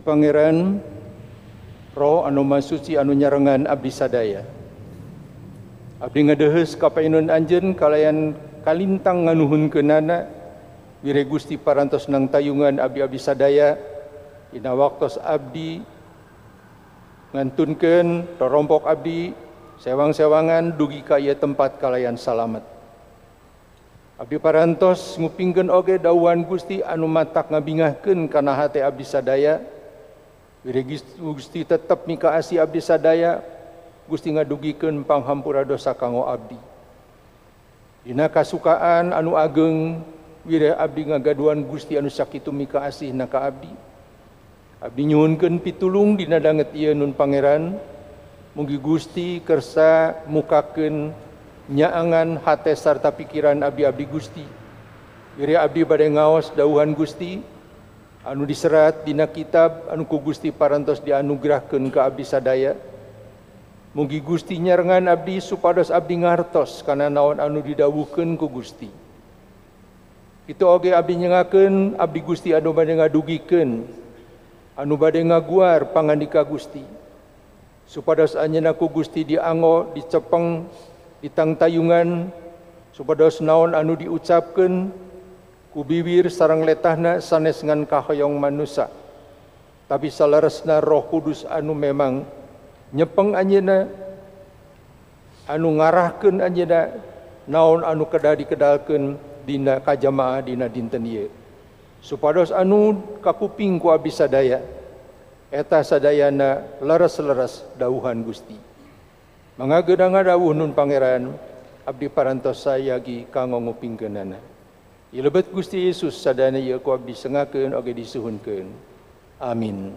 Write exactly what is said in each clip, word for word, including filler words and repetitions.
Pangeran, Roh anu masuci anu nyarengan abdi sadaya. Abdi ngadeheus ka painun anjeun kalayan kalintang nganuhunkeunana wire Gusti parantos nang tayungan abdi-abdi sadaya dina waktos abdi ngantunkeun rorompok abdi sewang-sewangan dugi ka ieu tempat kalayan salamet. Abdi parantos ngupingkeun oge dawuhan Gusti anu matak ngabingahkeun kana hate abdi sadaya. Wire Gusti tetep mikaasi abdi sadaya, Gusti ngadugikeun panghampura dosa kanggo abdi. Dina kasukaan anu ageng, wire abdi ngagaduhan Gusti anu sakitu mikaasihna ka abdi. Abdi nyuhunkeun pitulung dina danget ieu nun Pangeran, mugi Gusti kersa mukakeun nyaangan hate sarta pikiran abdi-abdi Gusti. Wire abdi bade ngaos dawuhan Gusti anu diserat dina kitab anu ku Gusti parantos dianugerahkeun ka abdi sadaya. Mugi Gusti nyarengan abdi supados abdi ngartos kana naon anu didawuhkeun ku Gusti. Kitu oge abdi nyengakeun abdi Gusti anu bade ngadugikeun, anu bade ngaguar pangandika Gusti. Supados anjeunna ku Gusti diango, dicepeng, ditangtayungan, supados naon anu diucapkeun ku bibir sareng letahna sanes ngan kahoyong manusia. Tapi salaresna Roh Kudus anu memang nyepeng anjeunna, anu ngarahkeun anjeunna naon anu kedah dikedalkeun dina kajamaah dina dinten ieu. Supados anu kakuping ku abdi sadaya eta sadayana leres-leres dawuhan Gusti. Mangga geudang dawuh nun Pangeran, abdi parantos sayagi kanggo ngupingkeunana. Ilebet Gusti Yesus sadana ieu ku abdi sengakeun oge disuhunkeun. Amin.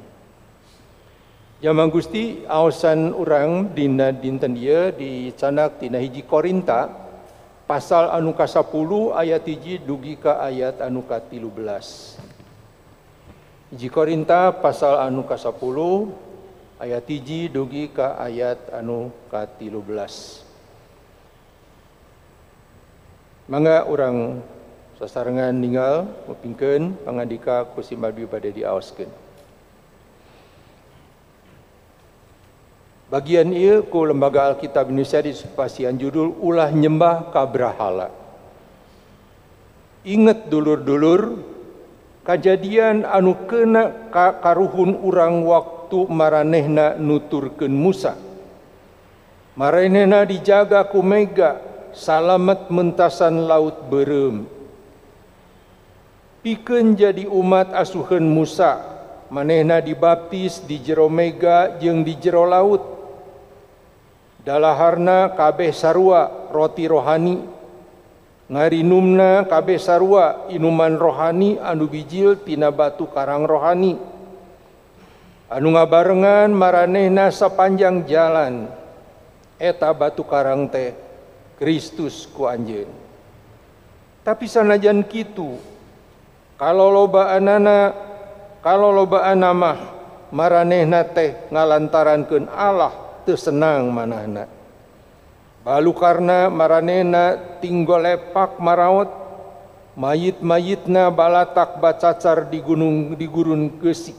Jamaah Gusti, aosan urang dina dinten ieu dicanak dina hiji Korinta pasal anu ka sepuluh ayat hiji dugi ka ayat anu ka tilu belas. Hiji Korinta pasal anu ka sepuluh ayat hiji dugi ka ayat anu ka tilu belas. Mangga urang sasarengan ninggal ngupingkeun pangandika ku Simabdi bade diaoskeun. Bagian ieu ku Lembaga Alkitab Indonesia disupasian judul ulah nyembah ka brahala. Inget dulur-dulur kajadian anu keuna ka karuhun urang waktu maranehna nuturkeun Musa. Maranehna dijaga ku mega salamet mentasan laut beureum. Pikeun jadi umat asuheun Musa, manehna dibaptis di jero mega jeung di jero laut. Dalaharna kabeh sarua roti rohani, ngarinumna kabeh sarua inuman rohani anu bijil tina batu karang rohani. Anu ngabarengan maranehna sapanjang jalan, eta batu karang teh Kristus ku anjeun. Tapi sanajan kitu, kalau lobaanana, kalau lobaan mah maranehna teh ngalantarankeun Allah teu senang manahna. Balukarna maranehna tinggal lepak maraot, mayit-mayitna balatak bacacar di gunung di gurun geusik.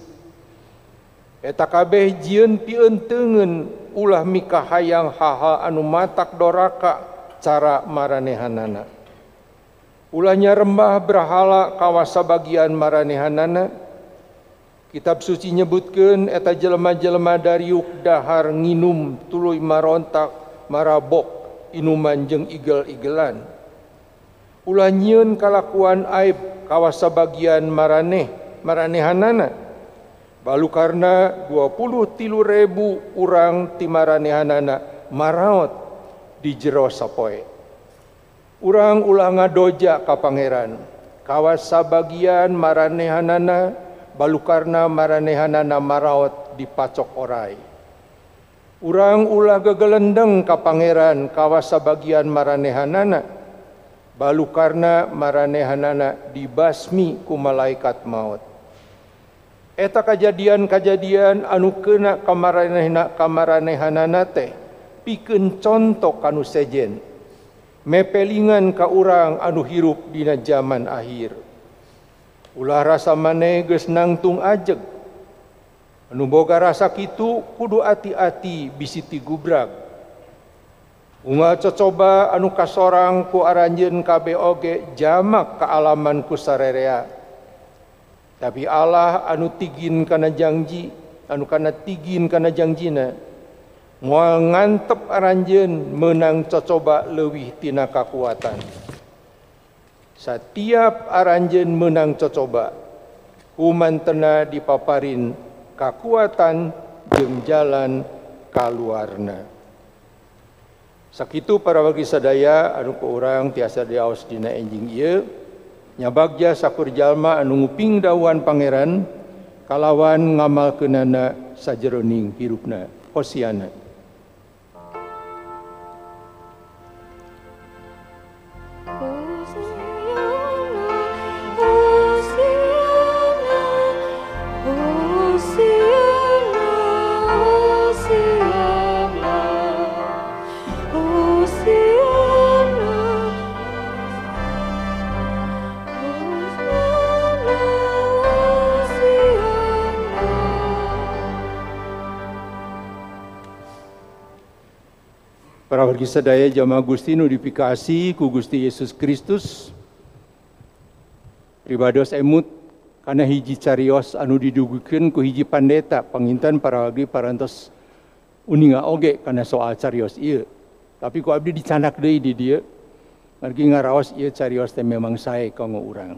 Eta kabeh jieun pieunteugeun ulah mikahayang hal-hal anu matak doraka cara maranehanana. Ulah nyarembah berhala kawasa bagian maranehanana. Kitab suci nyebutkeun eta jelema-jelema dariuk dahar nginum tuluy marontak marabok inuman jeung igel-igelan. Ulah nyieun kalakuan aib kawasa bagian maraneh maranehanana. Balukarna dua puluh tilu ribu urang ti maranehanana maraot di jero sapoe. Urang ulah ngadoja ka Pangeran kawasa bagian maranehanana balukarna maranehanana maraot di pacok orai. Urang ulah gegelendeng ka Pangeran kawasa bagian maranehanana balukarna maranehanana dibasmi ku malaikat maut. Eta kajadian-kajadian anu keuna ka maranehna ka maranehanana teh pikeun contoh kanu sejen mepelingan ka urang anu hirup dina zaman akhir. Ulah rasa maneh geus nangtung ajeg Anu boga rasa kitu kudu hati-hati bisi ti gubrag. Unga cocoba anu kasorang ku aranjeun kabe oge jamak kaalaman ku sarerea. Tapi Allah anu tigin kana janji, anu kana tigin kana janjina, moal ngantep aranjeun menang cocoba leuwih tina kakuatan. Setiap aranjeun menang cocoba, kumantena dipaparin kakuatan jeung jalan kaluarna. Sakitu para wargi sadaya anu ku urang tiasa diaos dina enjing ieu nya bagja sakur jalma anu nguping dawuhan pangeran kalawan ngamalkeunana sajeroning hirupna. Hosiana. Para wargi sadaya jamaah Gusti nu dipikasi ku Gusti Yesus Kristus, pribados emut kana hiji carios anu didugukeun ku hiji pandeta panginten para wargi parantos uninga oge kana soal carios ieu. Tapi ku abdi dicanak deui di dieu margi ngaraos ieu carios teh memang sae kanggo urang.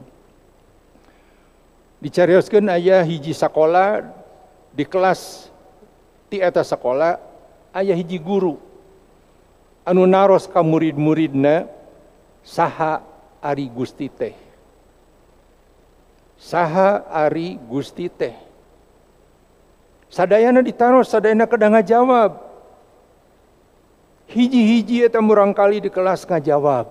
Dicarioskeun aya hiji sakola di kelas ti eta sakola aya hiji guru anu naros ka murid-muridna saha ari Gusti teh. Saha ari Gusti teh. Sadayana ditaros, sadayana kadang ngajawab. Hiji-hiji eta murangkali di kelas ngajawab.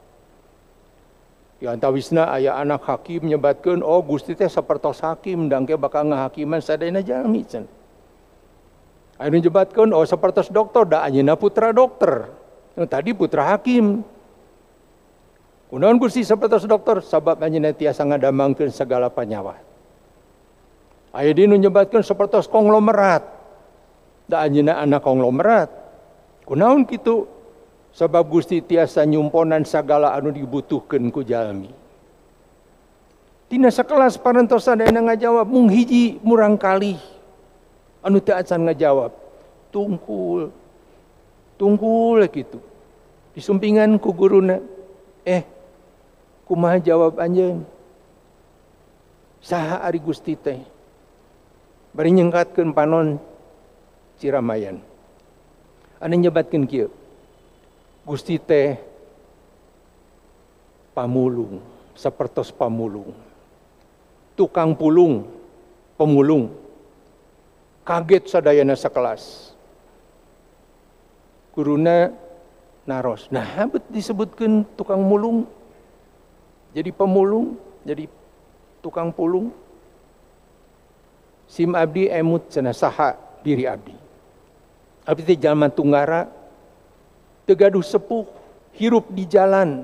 Di antawisna aya anak hakim nyebatkeun, oh Gusti teh sapertos hakim dangke bakal ngahakiman sadayana jalmi cenah. Anu nyebatkeun oh sapertos dokter da anjeunna putra dokter. Tadi putra hakim. Kunaon Gusti sapertos dokter sabab anjeunna tiasa ngadamangkeun sagala panyawa. Aya di nu nyebatkeun sapertos konglomerat. Da anjeunna anak konglomerat. Kunaon kitu? Sabab Gusti tiasa nyumponan sagala anu dibutuhkeun ku jalmi. Tina sakelas parantos sadayana ngajawab mung hiji murangkali anu teu acan ngajawab. Tungkul. Tungkul kitu. Disumpingan ku guruna, eh kumaha jawab anjeun? Saha ari Gusti teh? Bari nyengkatkeun panon Ciramayan. Anu nyebatkeun kieu. Gusti teh pamulung, sapertos pamulung. Tukang pulung, pemulung. Kaget sadayana sakelas. Guruna naros. Nah, habet disebutkan tukang mulung. Jadi pemulung, jadi tukang pulung. Sim abdi emut cenah saha diri abdi. Abdi teh jalma tunggara, teu gaduh sepuh, hirup di jalan.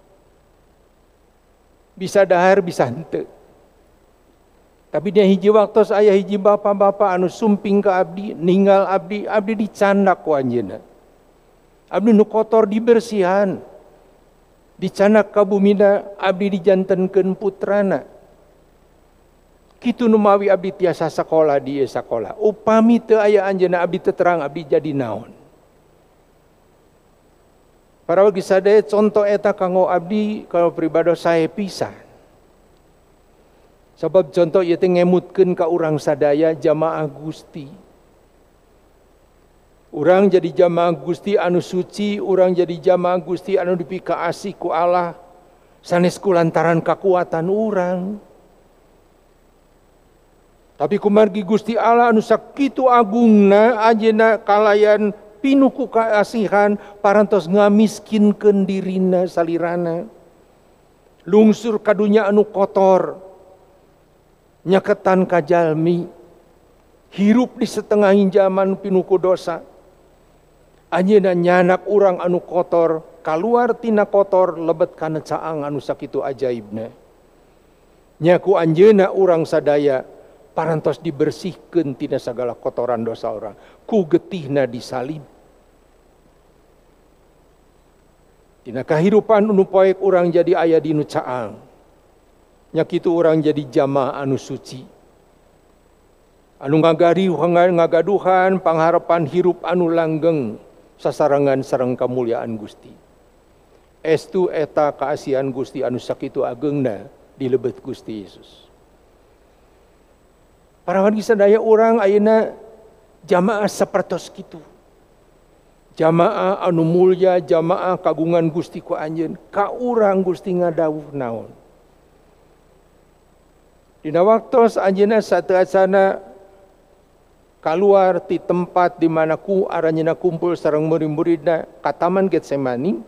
Bisa dahar, bisa henteu. Tapi dia hiji waktos aya hiji bapa-bapa anu sumping ka abdi, ninggal abdi, abdi dicandak ku anjeunna. Abdi nu kotor dibersihan. Dicanak ka bumina abdi dijantenkeun putrana. Kitu nu mawi abdi tiasa sakola di ieu sakola. Upami teu aya anjeunna abdi teu terang abdi jadi naon. Para wargi sadaya contoh eta kanggo abdi kalau pribados sae pisan. Sebab contoh ieu teh ngemutkeun ka urang sadaya jamaah Gusti. Urang jadi jamaah Gusti anu suci, urang jadi jamaah Gusti anu dipikaasi ku Allah sanes kulantaran kakuatan urang. Tapi kumargi Gusti Allah anu sakitu agungna anjeunna kalayan pinuh ku kaasihan parantos ngamiskinkeun dirina salirana. Lungsur ka dunya anu kotor. Nyaketan ka jalmi. Hirup di setengahing zaman pinuh ku dosa. Anjeunna nyanak urang anu kotor, kaluar tina kotor lebet kana caang anu sakitu ajaibna. Nya ku anjeunna urang sadaya parantos dibersihkeun tina sagala kotoran dosa orang. Ku getihna disalib. Tina kahirupan anu poek urang jadi aya dinu caang. Nya kitu urang jadi jamaah anu suci. Anu ngagari ngagaduhan pangharapan hirup anu langgeng sasarangan sareng kamuliaan Gusti. Estu eta kaasihan Gusti anu sakitu ageungna di lebet Gusti Yesus. Para wargi sadaya urang ayeuna jamaah sapertos kitu. Jamaah anu mulya, jamaah kagungan Gusti ku anjeun, ka urang Gusti ngadawuh naon. Dina waktos anjeunna sateasana kaluar ti tempat di mana ku aranjeunna kumpul sareng murid-muridna ka Taman Getsemani,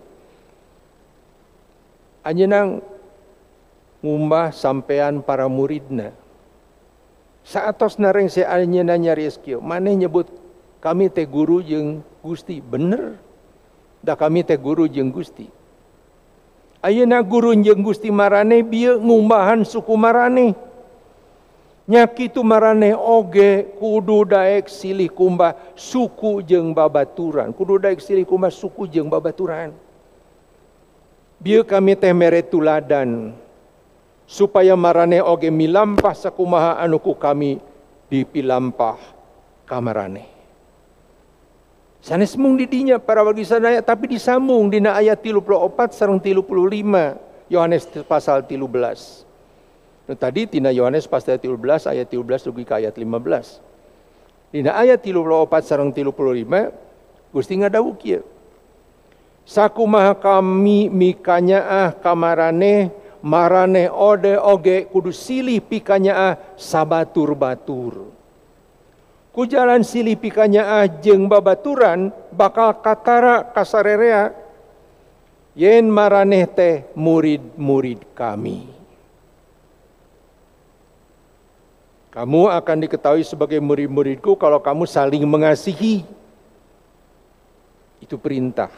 anjeunna ngumbah sampean para muridna. Saatosna rengse anjeunna nyarios kieu, maneh nyebut kami teh guru jeung Gusti, bener. Da kami teh guru jeung Gusti. Ayeuna guru jeung Gusti marane bieu ngumbahan suku marane. Nya kitu marane oge kudu daek silih kumbah suku jeung babaturan. Kudu daek silih kumbah suku jeung babaturan. Bieu kami teh mere tuladan supaya marane oge milampah sakumaha anu ku kami dipilampah ka marane. Sanes mung di dinya para wargi sadaya, tapi disambung dina ayat tilu puluh opat sareng tilu puluh lima Yohanes pasal tilu belas. Nah, tadi tina Yohanes pasal tilu belas ayat tilu belas dugi ka ayat lima belas. Dina ayat tilu puluh opat sareng tilu puluh lima Gusti ngadawuh kieu. Sakumaha kami mikanyaah kamarane marane ode oge kudu silih pikanyaah sabatur-batur. Ku jalan silih pikanyaah jeung babaturan bakal katara kasarerea yen maraneh teh murid-murid kami. Kamu akan diketahui sebagai murid-muridku kalau kamu saling mengasihi. Itu perintah.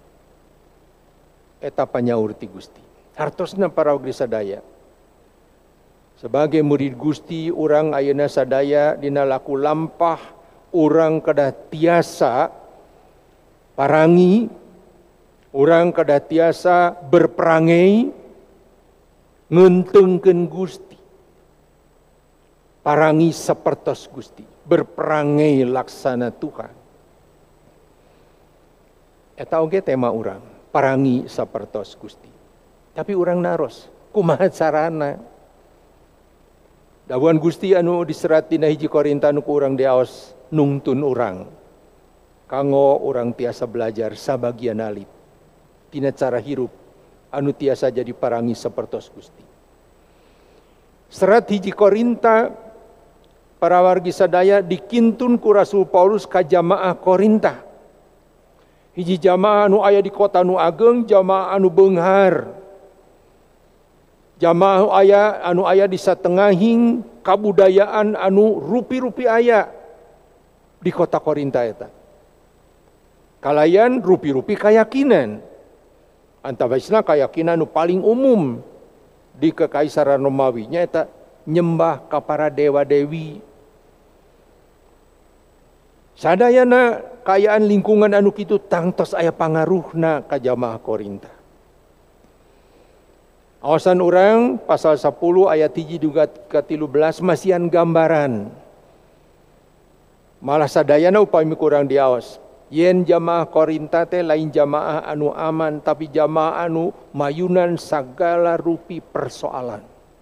Eta panyaur ti Gusti. Hartosna para wargi sadaya. Sebagai murid Gusti, urang ayeuna sadaya dina laku lampah urang kedah tiasa parangi, urang kedah tiasa berperangai ngeunteungkeun Gusti. Parangi sapertos Gusti, berperangai laksana Tuhan. Eta oge tema urang, parangi sapertos Gusti. Tapi urang naros, kumaha carana? Dawuhan Gusti anu diserat dina hiji Korinta anu ku urang diaos nungtun urang. Kanggo urang tiasa belajar sabagian alip tina cara hirup anu tiasa jadi parangi sapertos Gusti. Serat hiji Korinta para wargi sadaya dikintun ku Rasul Paulus ka jamaah Korinta. Hiji jamaah anu aya di kota nu ageng, jamaah anu beunghar. Jamaah aya anu aya di satengahing kabudayaan anu rupi-rupi aya di kota Korinta eta. Kalayan rupi-rupi keyakinan. Antawisna keyakinan anu paling umum di kekaisaran Romawi nya eta nyembah ka para dewa-dewi. Sadayana kayaan lingkungan anu kitu tangtos aya pangaruhna ka jamaah Korinta. Awasan urang pasal sepuluh ayat hiji juga ke tilu belas masihan gambaran. Malah sadayana upami kurang diaos. Yen jamaah Korinta teh lain jamaah anu aman, tapi jamaah anu mayunan sagala rupi persoalan.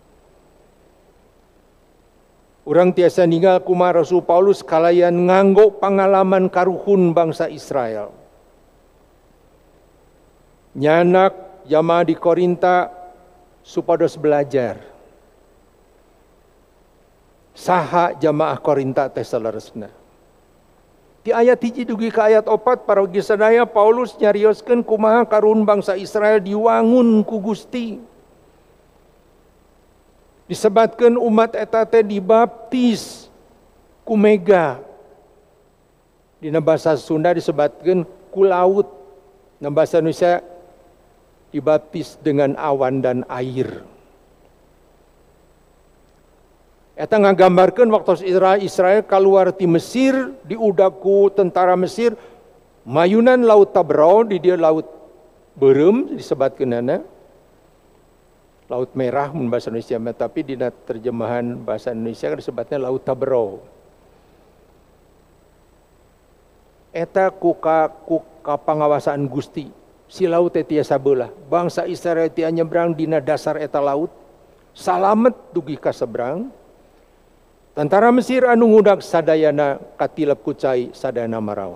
Urang tiasa ninggal kumaha Rasul Paulus kalayan nganggo pangalaman karuhun bangsa Israel. Nyanak jamaah di Korinta supados belajar. Saha jamaah Korinta teh saleresna. Di ayat hiji dugi ka ayat opat para wargi sadaya Paulus nyarioskeun kumaha karuhun bangsa Israel diwangun ku Gusti. Disebatkeun umat eta teh dibaptis ku mega. Dina basa Sunda disebatkeun ku laut. Na basa Indonesia dibaptis dengan awan dan air. Eta ngagambarkeun waktu Israel keluar ti Mesir, diudaku tentara Mesir, mayunan laut Tabrau, di dia laut Berem disebatkeunana. Laut Merah mun bahasa Indonesia, tapi di terjemahan bahasa Indonesia kan disebutnya laut Tabrau. Eta ku ka ku kapangawasan Gusti. Si laut teh tiasa beulah. Bangsa Israel teh nyebrang dina dasar eta laut. Salamet dugi ka seberang. Tentara Mesir anu ngudag sadayana katilep ku cai sadayana maraot.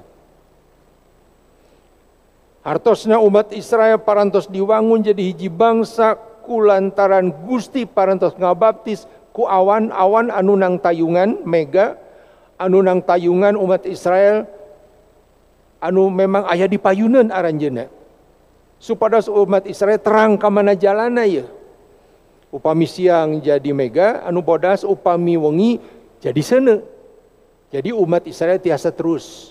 Hartosna umat Israel parantos diwangun jadi hiji bangsa kulantaran Gusti parantos ngabaptis ku awan-awan anu nang tayungan mega anu nang tayungan umat Israel anu memang aya di payuneun aranjeunna. Supados umat Israel terang ka mana jalana ieu. Upami siang jadi mega, anu bodas upami wengi jadi seuneu. Jadi umat Israel tiasa terus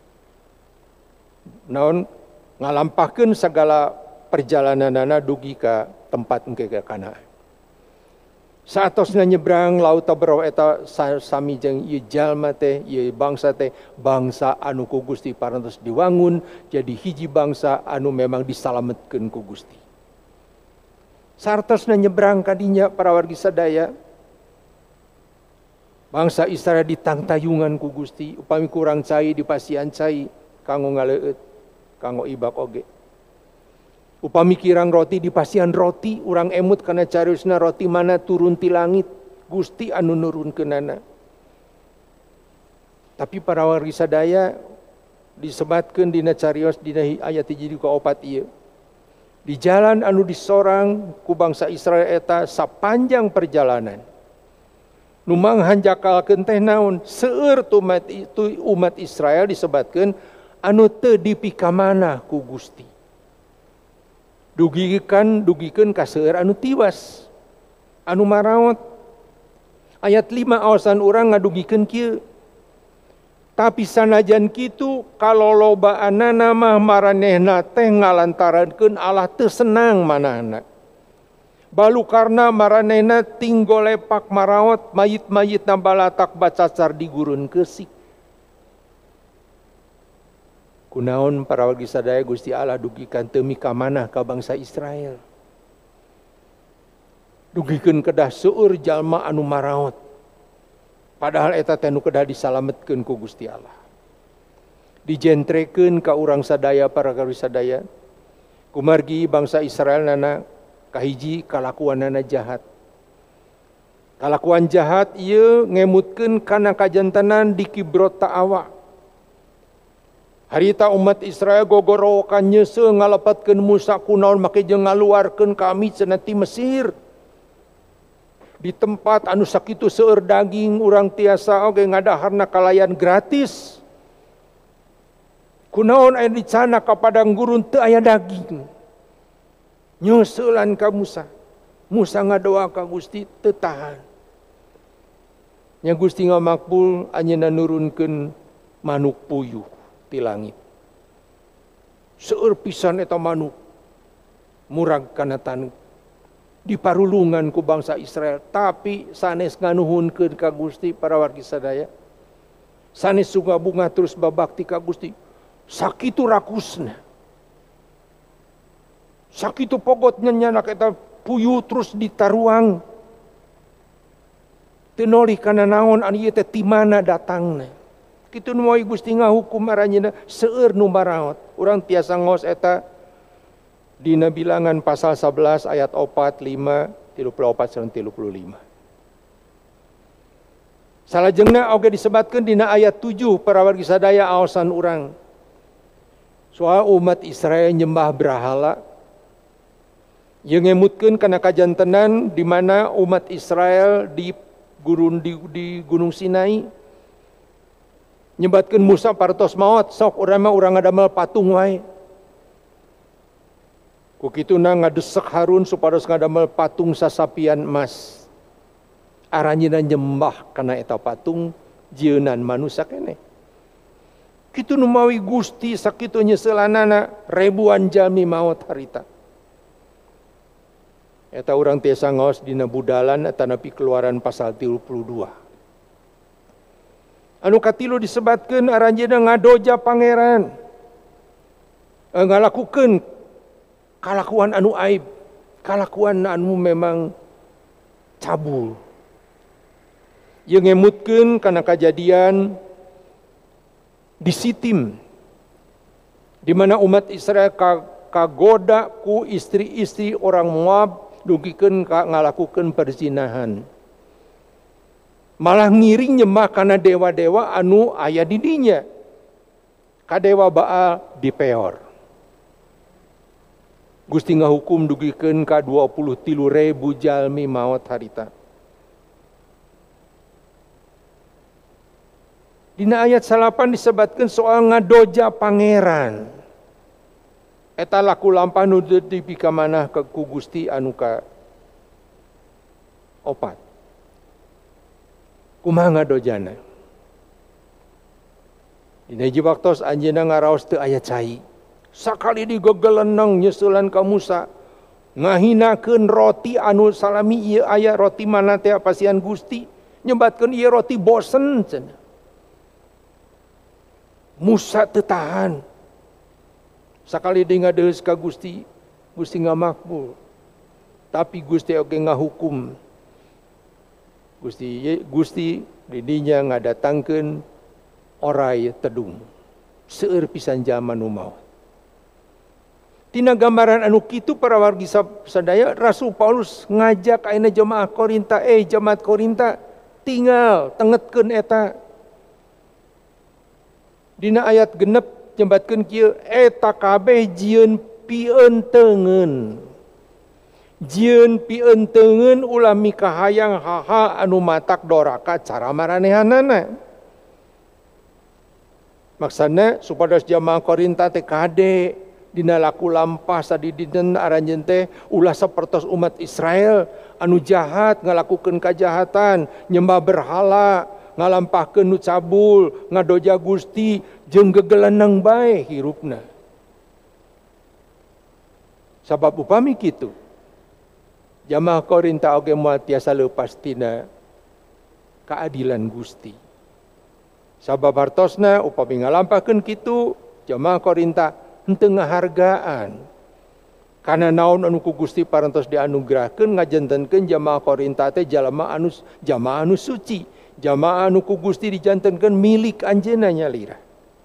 naon ngalampahkeun segala perjalananana dugi ka tempat engke ka Kanaan. Saatosna nyebrang laut Tabrau eta sami jeung ieu jalma teh, ieu bangsa teh bangsa anu ku Gusti parantos diwangun jadi hiji bangsa anu memang disalametkeun ku Gusti. Sartosna nyebrang kadinya para wargi sadaya. Bangsa Israel ditangtayungan ku Gusti, upami kurang cai dipasian cai kanggo ngaleueut, kanggo ibak oge. Upami kirang roti dipasian roti, urang emut kana cariosna roti mana turun ti langit, Gusti anu nurunkeunana. Tapi para wargi sadaya disebatkeun dina carios dina ayat hiji ka opat ieu. Di jalan anu disorang ku bangsa Israel eta sapanjang perjalanan. Nu manghanjakalkeun teh naon? Seueur umat itu umat Israel disebatkeun anu teu dipikamana ku Gusti. Dugikan dugikeun ka seueur anu tiwas. Anu maraot. Ayat lima awasan urang ngadugikeun kieu. Tapi sanajan kitu kalolobaanana mah maranehna teh ngalantarankeun Allah teu senang manahna. Balu karena maranehna tinggal lepak maraot mayit-mayitna balatak bacacar di gurun keusik. Kunaon para wargi sadaya Gusti Allah dugikan teu mika manah ka bangsa Israel. Dugikeun kedah seueur jalma anu maraot. Padahal eta teh nu kedah disalametkeun ku Gusti Allah. Dijentrekeun ka urang sadaya para wargi sadaya. Kumargi bangsa Israel nana kahiji kalakuanana jahat. Kalakuan jahat ieu ngemutkeun kana kajantenan di Kibrot Ta'awa. Harita umat Israel gogorokan nyeuseuh ngalepatkeun Musa kunaon make jeung ngaluarkeun kami cenah ti Mesir. Di tempat anu sakitu seueur daging urang tiasa oge ngadaharna kalayan gratis. Kunaon aya di sana ka padang gurun teu aya daging. Nyusulan ka Musa. Musa ngadoa ka Gusti teu tahan. Nya Gusti ngamakbul anjeunna nurunkeun manuk puyuh ti langit. Seueur pisan eta manuk murag kana taneuh. Diparulungan ku bangsa Israel, tapi sanes nganuhunkeun ka Gusti para wargi sadaya. Sanes sunga bunga terus babakti ka Gusti. Sakitu rakusna. Sakitu pogotnya nyana eta puyuh terus ditaruang. Teu nolih kana naon anu ieu teh ti mana datangna. Kitu nu moal Gusti ngahukum aranjeunna seueur nu maraot. Urang tiasa ngos eta dina Bilangan pasal sebelas ayat opat, lima, tilu puluh opat, sampai tilu puluh lima. Salajengna oge disebatkeun dina ayat tujuh para wargi sadaya aosan urang. Soal umat Israel nyembah berhala. Ieu ngemutkeun kana kajantenan di mana umat Israel di gurun di, di Gunung Sinai nyebatkeun Musa partos maot, sok urang mah urang ngadamel patung wae. Kukituna ngadesek Harun supados ngadamel patung sasapian emas. Aranjeunna nyembah kana eta patung jieunan manusia keneh. Kitu nu mawi Gusti sakitu nyeuselanana ribuan jalmi maot harita. Eta urang tiasa ngaos dina budalan eta nepi Keluaran pasal tilu puluh dua. Anu katilu disebatkeun aranjeunna ngadoja pangeran. E, ngalakukeun kalakuan anu aib, kalakuan anu memang cabul. Ieu ngemutkeun kana kajadian di Sitim, di mana umat Israel kagoda ku istri-istri orang Moab dugikeun ka ngalakukeun perzinahan. Malah ngiring nyembah kana dewa-dewa anu aya di dinya. Ka dewa Baal di Peor. Gusti ngahukum dugikeun ka dua puluh tilu ribu jalmi maot harita. Dina ayat salapan disebatkeun soal ngadoja pangeran. Eta laku lampah nu dipi ka manah ka ku Gusti anu ka opat. Kumaha ngadojana? Dina hiji waktos anjeunna ngaraos teu aya cai. Sakali digegeleneng nyeusulan ka Musa, ngahinakeun roti anu salami ieu aya roti mana teh pasian Gusti, nyebatkeun ieu roti bosen cenah. Musa teu tahan. Sakali dia ngadeus ka Gusti, Gusti ngamakbul. Tapi Gusti oge ngahukum. Gusti Gusti didinya ngadatangkeun orai tedung. Seueur pisan zaman nu maot. Tina gambaran anu kitu para wargi sadaya, Rasul Paulus ngajak ayeuna jemaah Korinta, eh jemaat Korinta tinggal tengetkeun eta. Dina ayat genep nyembatkeun kieu, eta kabeh jieun pieunteugeun. Jieun pieunteugeun ulah mikahayang haha anu matak doraka cara maranehanana. Maksudna supados jamaah Korinta teh kade dina laku lampah sadidina aranjeun teh ulah sapertos umat Israel anu jahat ngalakukeun kajahatan, nyembah berhala, ngalampahkeun nu cabul, ngadoja Gusti jeung gegeleneng bae hirupna. Sabab upami kitu, jamaah Korinta oge moal tiasa leupas tina keadilan Gusti. Sabab hartosna upami ngalampahkeun kitu, jamaah Korinta henteu ngahargaan. Kana naon anu ku Gusti parantos dianugerahkeun ngajantenkeun jamaah Korinta teh jalma anu jamaah anu suci, jamaah anu ku Gusti dijantenkeun milik anjeunna nyalira.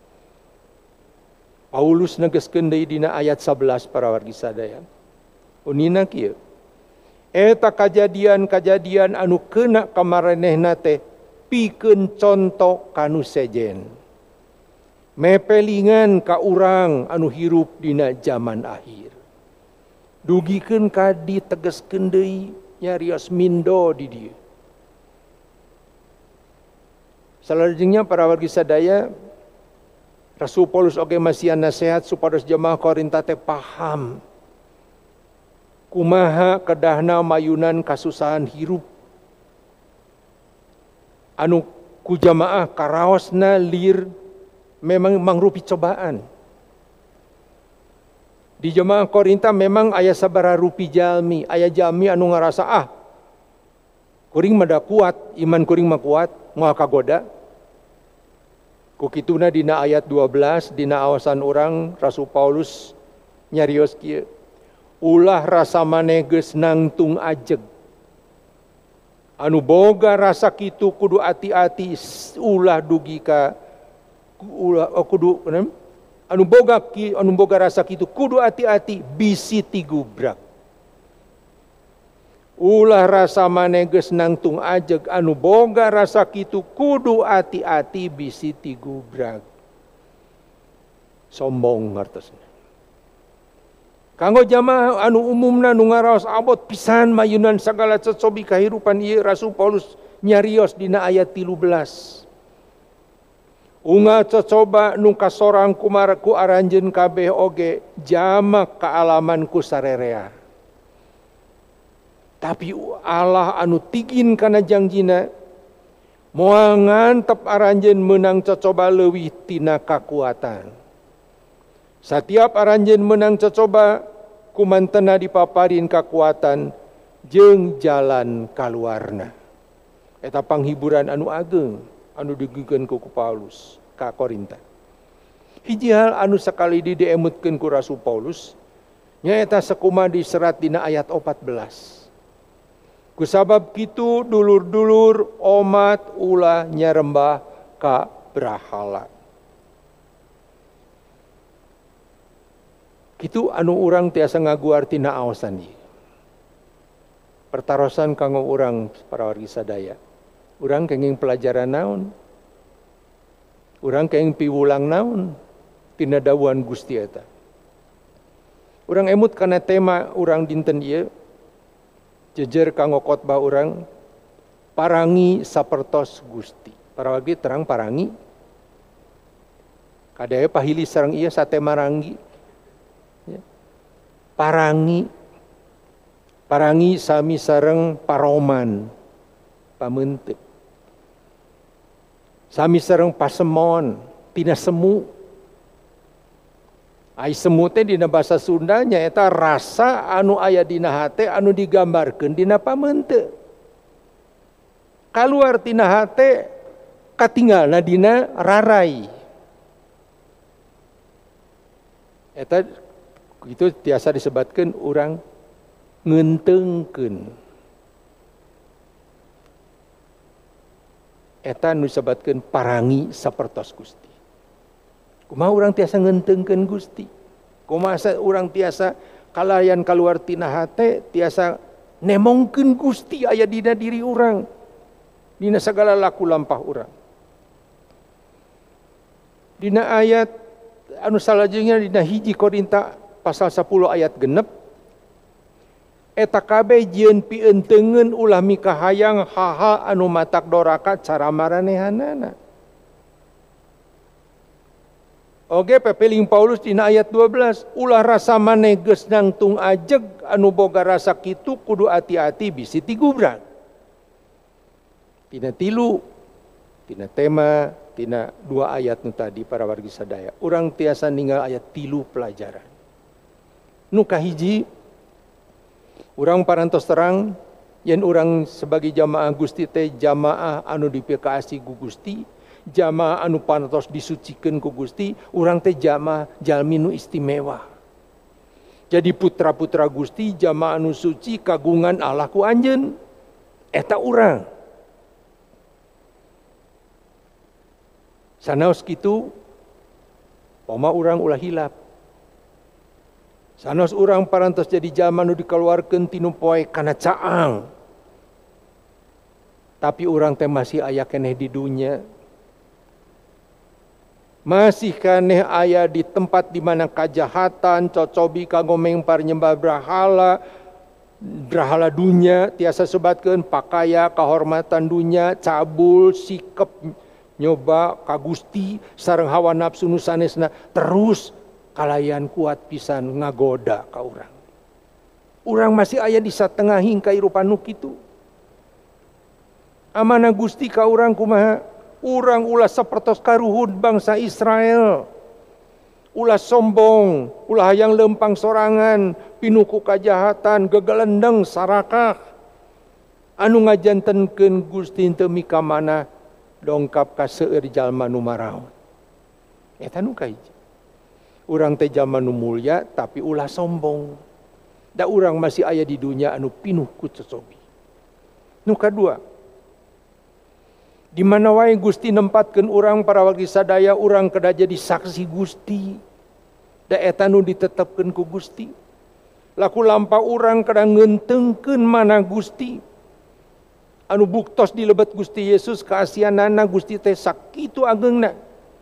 Paulus negeskeun deui dina ayat sebelas para wargi sadaya. Unina kieu. Eta kajadian-kajadian anu keuna ka maranehna teh pikeun conto kanu sejen. Mepelingan ka urang anu hirup dina zaman akhir. Dugikeun ka ditegeskeun deui nyarios mindo di dieu. Salajengnya para wargi sadaya, Rasul Paulus oge masihan nasihat supados jemaah Korinta teh paham kumaha kedahna mayunan kasusahan hirup anu ku jamaah karaosna lir memang mangrupi cobaan. Di jemaah Korinta memang aya sabaraha rupi jalmi, aya jalmi anu ngarasa ah kuring mah da kuat, iman kuring mah kuat, moal kagoda. Ku kituna dina ayat dua belas dina awasan urang Rasul Paulus nyarios kieu. Ulah rasa maneh geus nangtung ajeg. Anu boga rasa kitu kudu ati-ati ulah dugi ka ulah oh, kudu anu boga ki anu boga rasa kitu kudu ati-ati bisi tigubrak. Ulah rasa maneh geus nangtung ajeg anu boga rasa kitu kudu ati-ati bisi tigubrak. Sombong ngartosna. Kanggo jamaah anu umumna nu ngaraos abot pisan mayunan sagala cocobi kahirupan ieu Rasul Paulus nyarios dina ayat tilu belas. Unga cocoba nu kasorang kumar ku aranjeun kabeh oge jamak kaalaman ku sarerea. Tapi Allah anu tigin kana jangjina moal ngantep aranjeun meunang cocoba leuwih tina kakuatan. Satiap aranjeun meunang cocoba kumantenna dipaparin kakuatan jeung jalan kaluarna. Eta panghiburan anu ageng anu digikeun ku Paulus ka Korinta. Hiji hal anu sakali diemutkeun ku Rasul Paulus nyaeta sakumaha di serat dina ayat opat belas. Kusabab kitu dulur-dulur omat ulah nyarembah ka brahala. Kitu anu urang tiasa ngaguar tina aosan ieu. Pertarosan kanggo urang para wargi sadaya. Urang kenging pelajaran naon? Urang kenging piwulang naon? Tina dawuhan Gusti eta. Urang emut kana tema urang dinten ieu jejer kanggo khotbah urang parangi sapertos Gusti. Para wargi terang parangi. Kadaya pahili sareng ieu satema ranggi. Ya. Parangi parangi sami sareng paroman pamenteuk. Sami sareng pasemon tina semu. Ai semu teh dina basa Sunda nyaeta rasa anu aya dina hate anu digambarkeun dina pamenteuk. Kaluar tina hate katinggalna dina rarai. Eta itu tiasa disebutkeun urang ngeunteungkeun. Eta nu disebutkeun parangi sapertos Gusti. Kumaha urang tiasa ngeunteungkeun Gusti? Kumaha urang tiasa kalayan kaluar tina hate tiasa nemongkeun Gusti aya dina diri urang. Dina sagala laku lampah urang. Dina ayat anu salajengna dina hiji Korinta pasal sepuluh ayat genep eta kabeh jieun pienteungeun ulah mikahayang hal-hal anu matak doraka cara maranehanana. Oge pepeling Paulus dina ayat dua belas ulah rasa maneh geus nangtung ajeg anu boga rasa kitu kudu ati-ati bisi tigubrak. Tina tilu tina tema tina dua ayat nu tadi para wargi sadaya urang tiasa ninggal ayat tilu pelajaran. Nu kahiji urang parantos terang yen urang sebagai jamaah Gusti teh jamaah anu dipikaasi ku Gusti, jamaah anu parantos disucikeun ku Gusti, urang teh jamaah jalmi nu istimewa. Jadi putra-putra Gusti jamaah anu suci kagungan Allah ku anjeun. Eta urang. Sanaos kitu poma urang ulah hilap. Sanos urang parantos jadi jalma nu dikeluarkeun tinu poe kana caang. Tapi urang teh masih aya keneh di dunya. Masih keneh aya di tempat di mana kajahatan, cocobi kanggo mengpar nyembah brahala, brahala dunya tiasa sebatkeun pakaya kahormatan dunya, cabul, sikep nyoba ka Gusti sareng hawa nafsu nu sanesna terus kalayan kuat pisan ngagoda ka urang. Urang masih aya di satengahing kairupan nu kitu. Amanah Gusti ka urang kumaha? Urang ulah sapertos karuhun bangsa Israel. Ulah sombong, ulah hayang lempang sorangan, pinuku kajahatan, gegelendeng sarakah. Anu ngajantenkeun Gusti teu mika manah dongkap ka seueur jalma nu maraon. Eta nu kahiji. Urang teh jalma nu mulia tapi ulah sombong. Da urang masih aya di dunia anu pinuh ku cocobi. Nu kadua, di mana wae Gusti nempatkeun urang para wargi sadaya urang kedah jadi saksi Gusti. Da eta nu ditetepkeun ku Gusti. Laku lampah urang kedah ngeunteungkeun mana Gusti. Anu buktos di lebet Gusti Yesus kaasianana Gusti teh sakitu ageungna.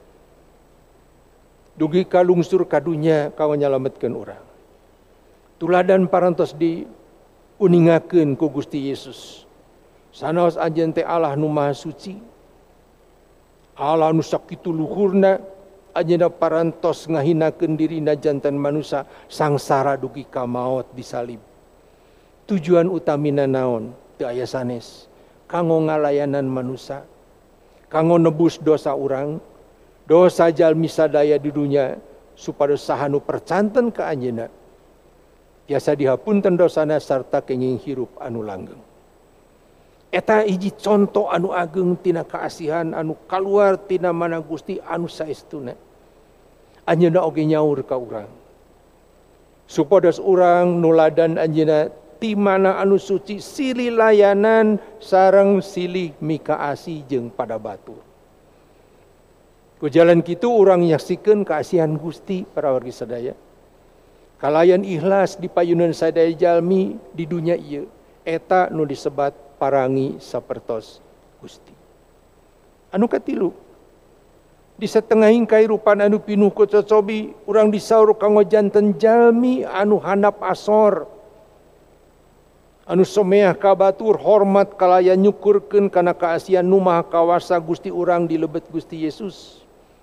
Dugi ka lungsur kadunya kawan nyalametkeun urang. Tuladan parantos diuningakeun ku Gusti Yesus. Sanaos anjeun teh Allah nu Maha Suci. Allah nu sakitu luhurna anjeunna parantos ngahinakeun dirina janten manusia sangsara dugi ka maot disalib. Tujuan utamina naon? Teu aya sanes. Kanggo ngalayanan manusia. Kanggo nebus dosa urang. Dosa jalmi sadaya di dunia supados saha nu percanten ka anjeunna Tiasa dihapunten dosana sarta kenging hirup anu langgeng. Eta hiji contoh anu ageng tina kaasihan anu kaluar tina mana Gusti anu saestuna. Anjeunna oge nyaur ka urang. Supados urang nuladan anjeunna ti mana anu suci silih layanan sareng silih mikaasi jeung pada batur. Ku jalan kitu urang nyaksikeun kaasihan Gusti para wargi sadaya. Kalayan ikhlas di payunan sadaya jalmi di dunia ieu eta nu disebat parangi sapertos Gusti. Anu katilu, di satengahing kahirupan anu pinuh ku cocobi urang disaur kanggo janten jalmi anu handap asor, anu someah ka batur hormat kalayan nyukurkeun kana kaasihan nu maha kawasa Gusti urang di lebet Gusti Yesus.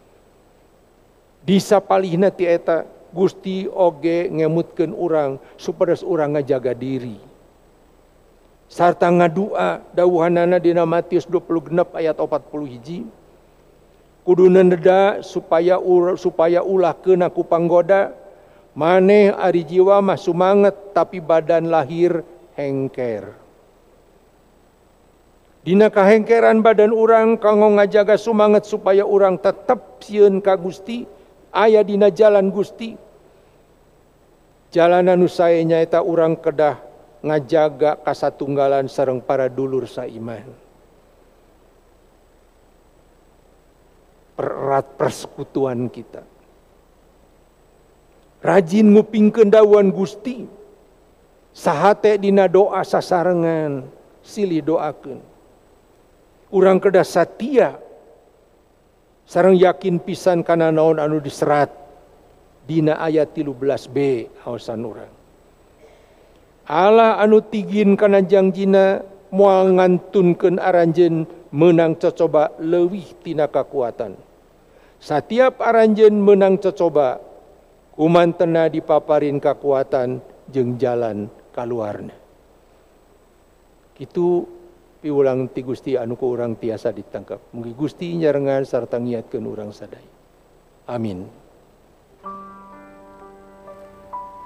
Di sapalihna ti eta Gusti oge ngemutkeun urang supados urang ngajaga diri. Sarta ngadua dawuhanana dina Matius dua puluh genep ayat empat puluh hiji. Kuduna neda supaya ur, supaya ulah keuna ku panggoda, maneh ari jiwa mah sumanget tapi badan lahir hengker. Dina kahengkeran badan urang kanggo ngajaga sumanget supaya urang tetep sieun ka Gusti, aya dina jalan Gusti. Jalan anu sae nyaeta urang kedah ngajaga kasatunggalan sareng para dulur saiman. Pererat persekutuan kita. Rajin ngupingkeun dawuhan Gusti. Sahate dina doa sasarengan silih doakeun. Urang kedah satia sareng yakin pisan kana naon anu diserat dina ayat tilu belas b aosan urang. Allah anu tigin kana jangjina moal ngantunkeun aranjeun meunang cocoba leuwih tina kakuatan. Satiap aranjeun meunang cocoba kumantena dipaparin kakuatan jeung jalan kaluarna. Kitu piulang ti Gusti anu ku urang tiasa ditangkap. Mugi Gusti nyarengan sarta ngiatkeun urang sadaya. Amin.